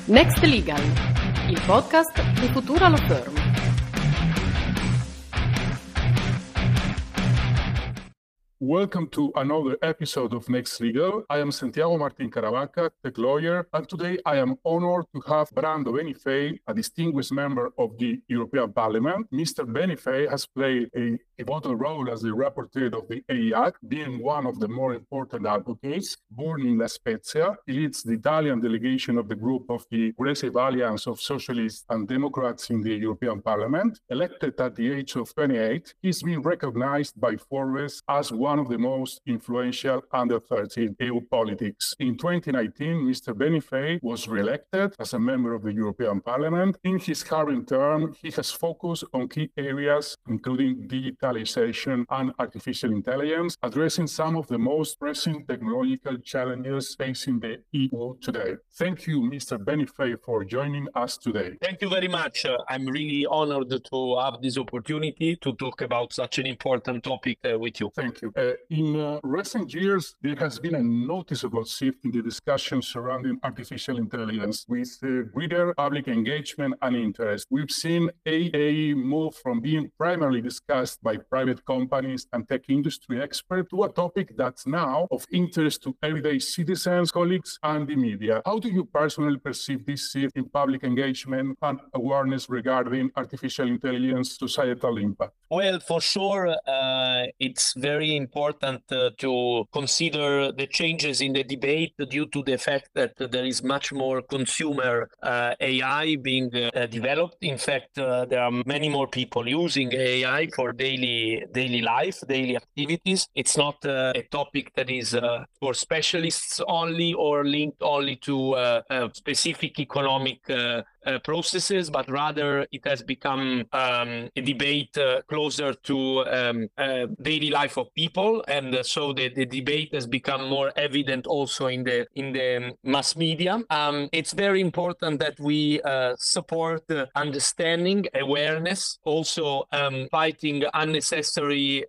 Next Legal, il podcast di Futura Law Firm. Welcome to another episode of Next Legal. I am Santiago Martin Caravaca, tech lawyer, and today I am honored to have Brando Benifei, a distinguished member of the European Parliament. Mr. Benifei has played a pivotal role as the rapporteur of the AI Act, being one of the more important advocates. Born in La Spezia, he leads the Italian delegation of the group of the Progressive Alliance of Socialists and Democrats in the European Parliament. Elected at the age of 28, he's been recognized by Forbes as one of the most influential under 30 EU politics. In 2019, Mr. Benifei was re-elected as a member of the European Parliament. In his current term, he has focused on key areas, including digitalization and artificial intelligence, addressing some of the most pressing technological challenges facing the EU today. Thank you, Mr. Benifei, for joining us today. Thank you very much. I'm really honored to have this opportunity to talk about such an important topic with you. Thank you. In recent years, there has been a noticeable shift in the discussion surrounding artificial intelligence with greater public engagement and interest. We've seen AI move from being primarily discussed by private companies and tech industry experts to a topic that's now of interest to everyday citizens, colleagues, and the media. How do you personally perceive this shift in public engagement and awareness regarding artificial intelligence societal impact? Well, for sure, it's very important to consider the changes in the debate due to the fact that there is much more consumer AI being developed. In fact, there are many more people using AI for daily life, daily activities. It's not a topic that is for specialists only or linked only to specific economic processes, but rather it has become a debate closer to daily life of people, and so the debate has become more evident also in the mass media. It's very important that we support understanding, awareness, also fighting unnecessary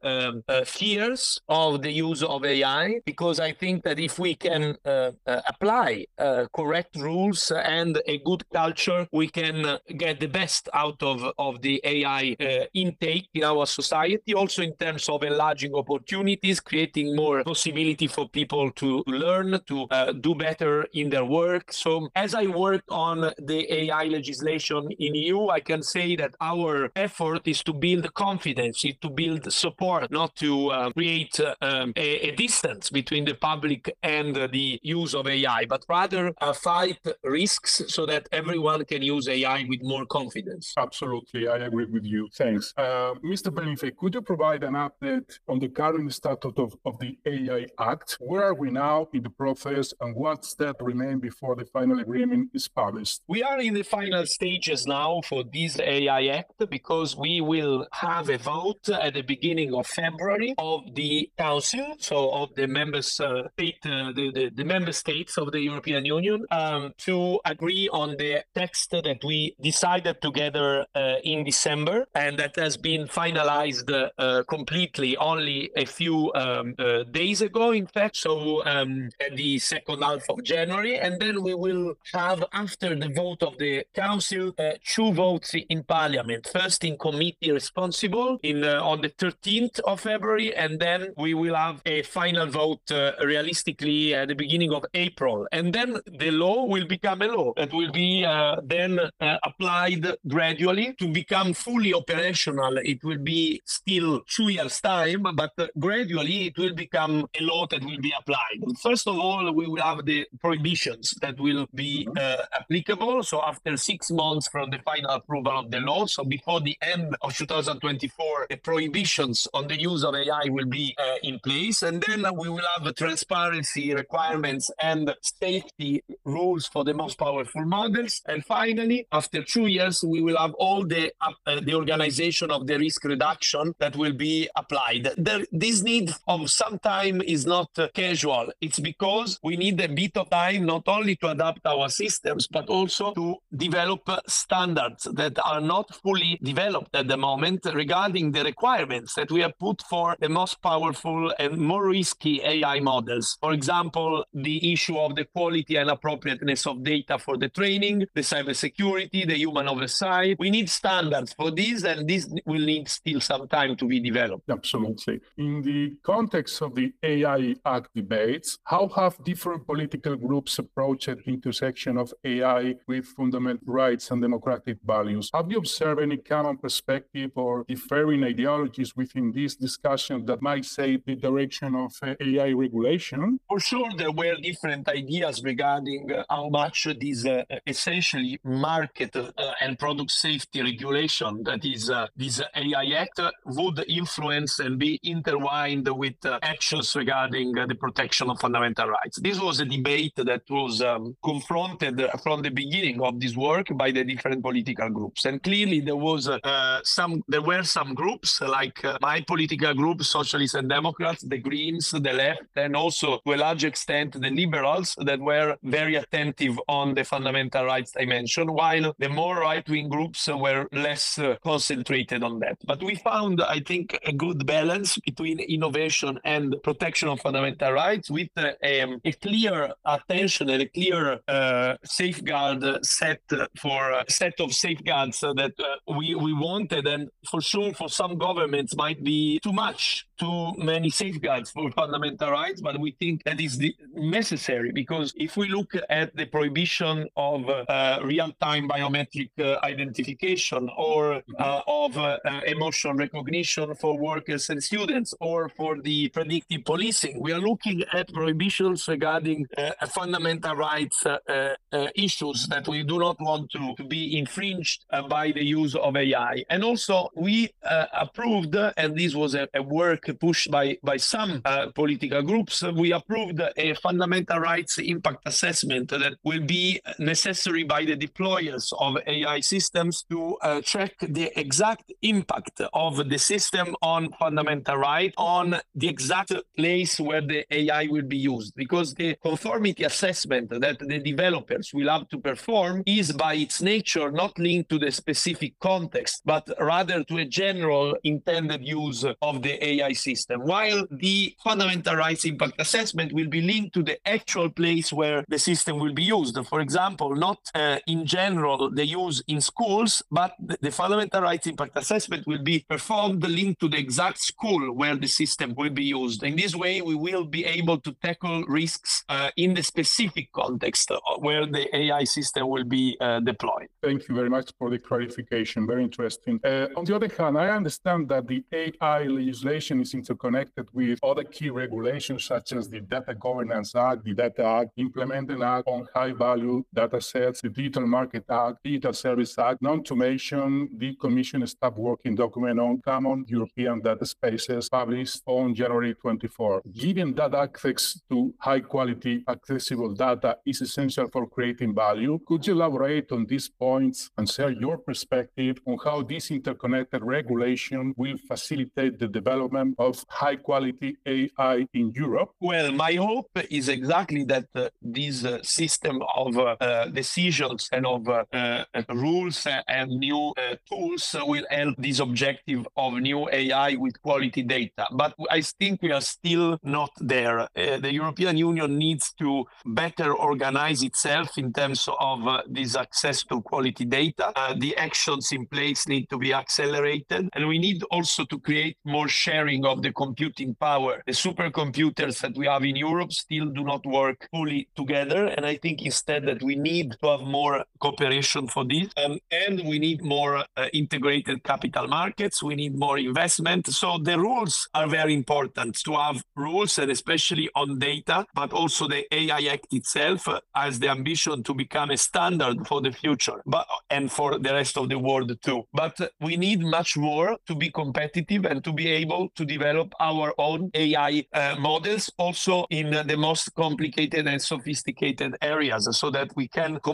fears of the use of AI, because I think that if we can apply correct rules and a good culture, we can get the best out of the AI intake in our society, also in terms of enlarging opportunities, creating more possibility for people to learn, to do better in their work. So as I work on the AI legislation in EU, I can say that our effort is to build confidence, is to build support, not to create a distance between the public and the use of AI, but rather fight risks so that everyone can use AI with more confidence. Absolutely, I agree with you. Thanks. Mr. Benifei, could you provide an update on the current status of the AI Act? Where are we now in the process, and what steps remain before the final agreement is published? We are in the final stages now for this AI Act, because we will have a vote at the beginning of February of the Council, so of the member the member states of the European Union, to agree on the text that we decided together in December, and that has been finalized completely only a few days ago, in fact, so at the second half of January. And then we will have, after the vote of the Council, two votes in Parliament. First in committee responsible on the 13th of February, and then we will have a final vote realistically at the beginning of April. And then the law will become a law that will be then applied gradually to become fully operational. It will be still 2 years' time, but gradually it will become a law that will be applied. First of all, we will have the prohibitions that will be applicable. So after 6 months from the final approval of the law, so before the end of 2024, the prohibitions on the use of AI will be in place. And then we will have the transparency requirements and safety rules for the most powerful models. And finally, after 2 years, we will have all the organization of the risk reduction that will be applied. This need of some time is not casual. It's because we need a bit of time not only to adapt our systems, but also to develop standards that are not fully developed at the moment regarding the requirements that we have put for the most powerful and more risky AI models. For example, the issue of the quality and appropriateness of data for the training, the cybersecurity, the human oversight. We need standards for this, and this will need still some time to be developed. Absolutely. In the context of the AI Act debates, how have different political groups approached the intersection of AI with fundamental rights and democratic values? Have you observed any common perspective or differing ideologies within this discussion that might shape the direction of AI regulation? For sure, there were different ideas regarding how much this essentially market and product safety regulation, that is this AI Act, would influence and be intertwined with actions regarding the protection of fundamental rights. This was a debate that was confronted from the beginning of this work by the different political groups. And clearly there were some groups like my political group, Socialists and Democrats, the Greens, the Left, and also to a large extent the Liberals, that were very attentive on the fundamental rights dimension, while the more right-wing groups were less concentrated on that. But we found, I think, a good balance between innovation and protection of fundamental rights, with a clear attention and a clear set of safeguards that we wanted. And for sure, for some governments might be too many safeguards for fundamental rights, but we think that is necessary, because if we look at the prohibition of real-time biometric identification, or of emotion recognition for workers and students, or for the predictive policing, we are looking at prohibitions regarding fundamental rights issues that we do not want to be infringed by the use of AI. And also we approved, and this was a work pushed by some political groups, we approved a fundamental rights impact assessment that will be necessary by the deployers of AI systems to track the exact impact of the system on fundamental rights, on the exact place where the AI will be used. Because the conformity assessment that the developers will have to perform is by its nature not linked to the specific context, but rather to a general intended use of the AI system, while the fundamental rights impact assessment will be linked to the actual place where the system will be used. For example, not in general the use in schools, but the fundamental rights impact assessment will be performed linked to the exact school where the system will be used. In this way, we will be able to tackle risks in the specific context where the AI system will be deployed. Thank you very much for the clarification. Very interesting. On the other hand, I understand that the AI legislation is interconnected with other key regulations such as the Data Governance Act, the Data Act, Implementing Act on High-Value Data Sets, the Digital Market Act, Digital Service Act, not to mention the Commission Staff Working Document on Common European Data Spaces published on January 24. Given that access to high-quality, accessible data is essential for creating value, could you elaborate on these points and share your perspective on how this interconnected regulation will facilitate the development of high-quality AI in Europe? Well, my hope is exactly that this system of decisions and of rules and new tools will help this objective of new AI with quality data. But I think we are still not there. The European Union needs to better organize itself in terms of this access to quality data. The actions in place need to be accelerated, and we need also to create more sharing of the computing power. The supercomputers that we have in Europe still do not work fully together, and I think instead that we need to have more cooperation for this, and we need more integrated capital markets. We need more investment. So the rules are very important, to have rules, and especially on data, but also the AI Act itself has the ambition to become a standard for the future, and for the rest of the world too. But we need much more to be competitive and to be able to develop our own AI models also in the most complicated and sophisticated areas, so that we can compete with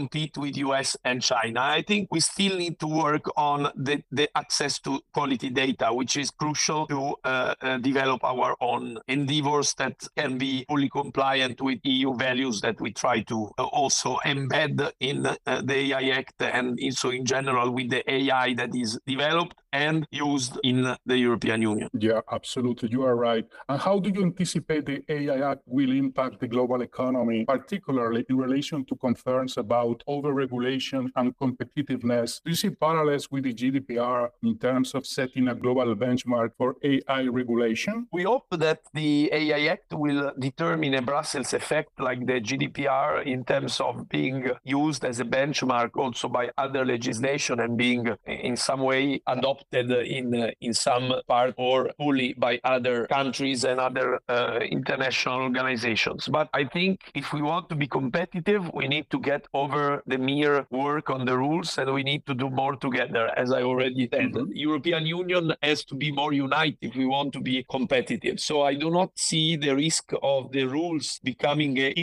with US and China. I think we still need to work on the access to quality data, which is crucial to develop our own endeavors that can be fully compliant with EU values that we try to also embed in the AI Act and also in general with the AI that is developed and used in the European Union. Yeah, absolutely. You are right. And how do you anticipate the AI Act will impact the global economy, particularly in relation to concerns about overregulation and competitiveness? Do you see parallels with the GDPR in terms of setting a global benchmark for AI regulation? We hope that the AI Act will determine a Brussels effect like the GDPR in terms of being used as a benchmark also by other legislation and being in some way adopted in some part or fully by other countries and other international organizations. But I think if we want to be competitive, we need to get over the mere work on the rules and we need to do more together. As I already said, the European Union has to be more united if we want to be competitive. So I do not see the risk of the rules becoming a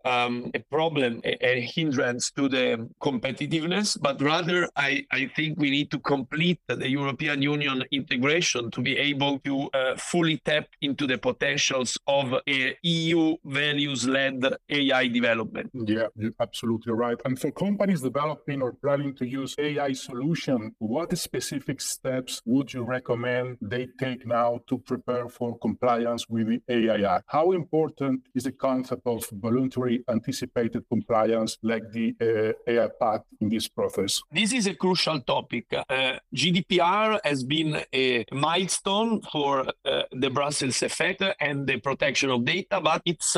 problem, a hindrance to the competitiveness, but rather I think we need to complete the European Union integration to be able to fully tap into the potentials of a EU values-led AI development. Yeah, you're absolutely right. And for companies developing or planning to use AI solution, what specific steps would you recommend they take now to prepare for compliance with the AI Act? How important is the concept of voluntary anticipated compliance like the AI Pact in this process? This is a crucial topic. GDPR has been a milestone for the Brussels effect and the protection of data, but its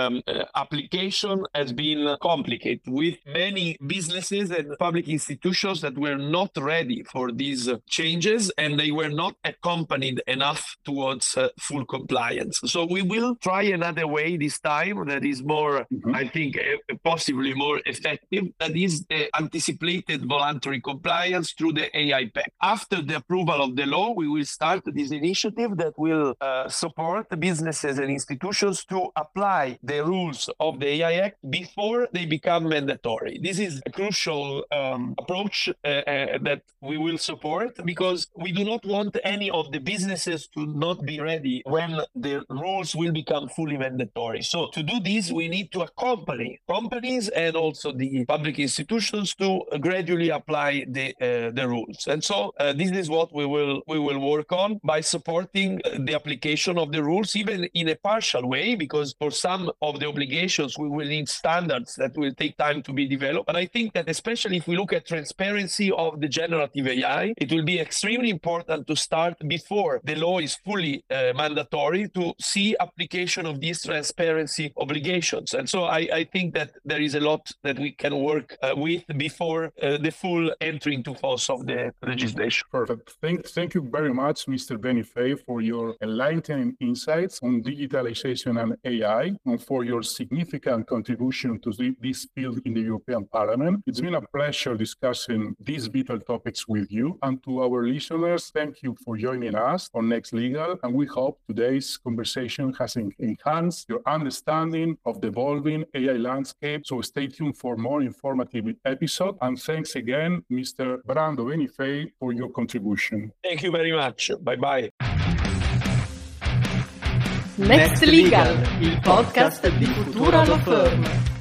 application has been complicated with many businesses and public institutions that were not ready for these changes and they were not accompanied enough towards full compliance. So we will try another way this time that is more, I think, possibly more effective. That is the anticipated voluntary compliance through the AI Pact. After the approval of the law, we will start this initiative that will support businesses and institutions to apply the rules of the AI Act before they become mandatory. This is a crucial approach that we will support because we do not want any of the businesses to not be ready when the rules will become fully mandatory. So to do this, we need to accompany companies and also the public institutions to gradually apply the rules. And so this is what we will work on by supporting the application of the rules, even in a partial way, because for some of the obligations, we will need standards that will take time to be developed. And I think that especially if we look at transparency of the generative AI, it will be extremely important to start before the law is fully mandatory to see application of these transparency obligations. And so I think that there is a lot that we can work with before the full entry into force of the legislation. Perfect. Thank you very much, Mr. Benifei, for your enlightening insights on digitalization and AI and for your significant contribution to this field in the European Parliament. It's been a pleasure discussing these vital topics with you. And to our listeners, thank you for joining us on Next Legal. And we hope today's conversation has enhanced your understanding of the evolving AI landscape. So stay tuned for more informative episodes. And thanks again, Mr. Brando Benifei, for your contribution. Thank you very much. Bye-bye. Next Legal, il podcast di Futura Law Firm.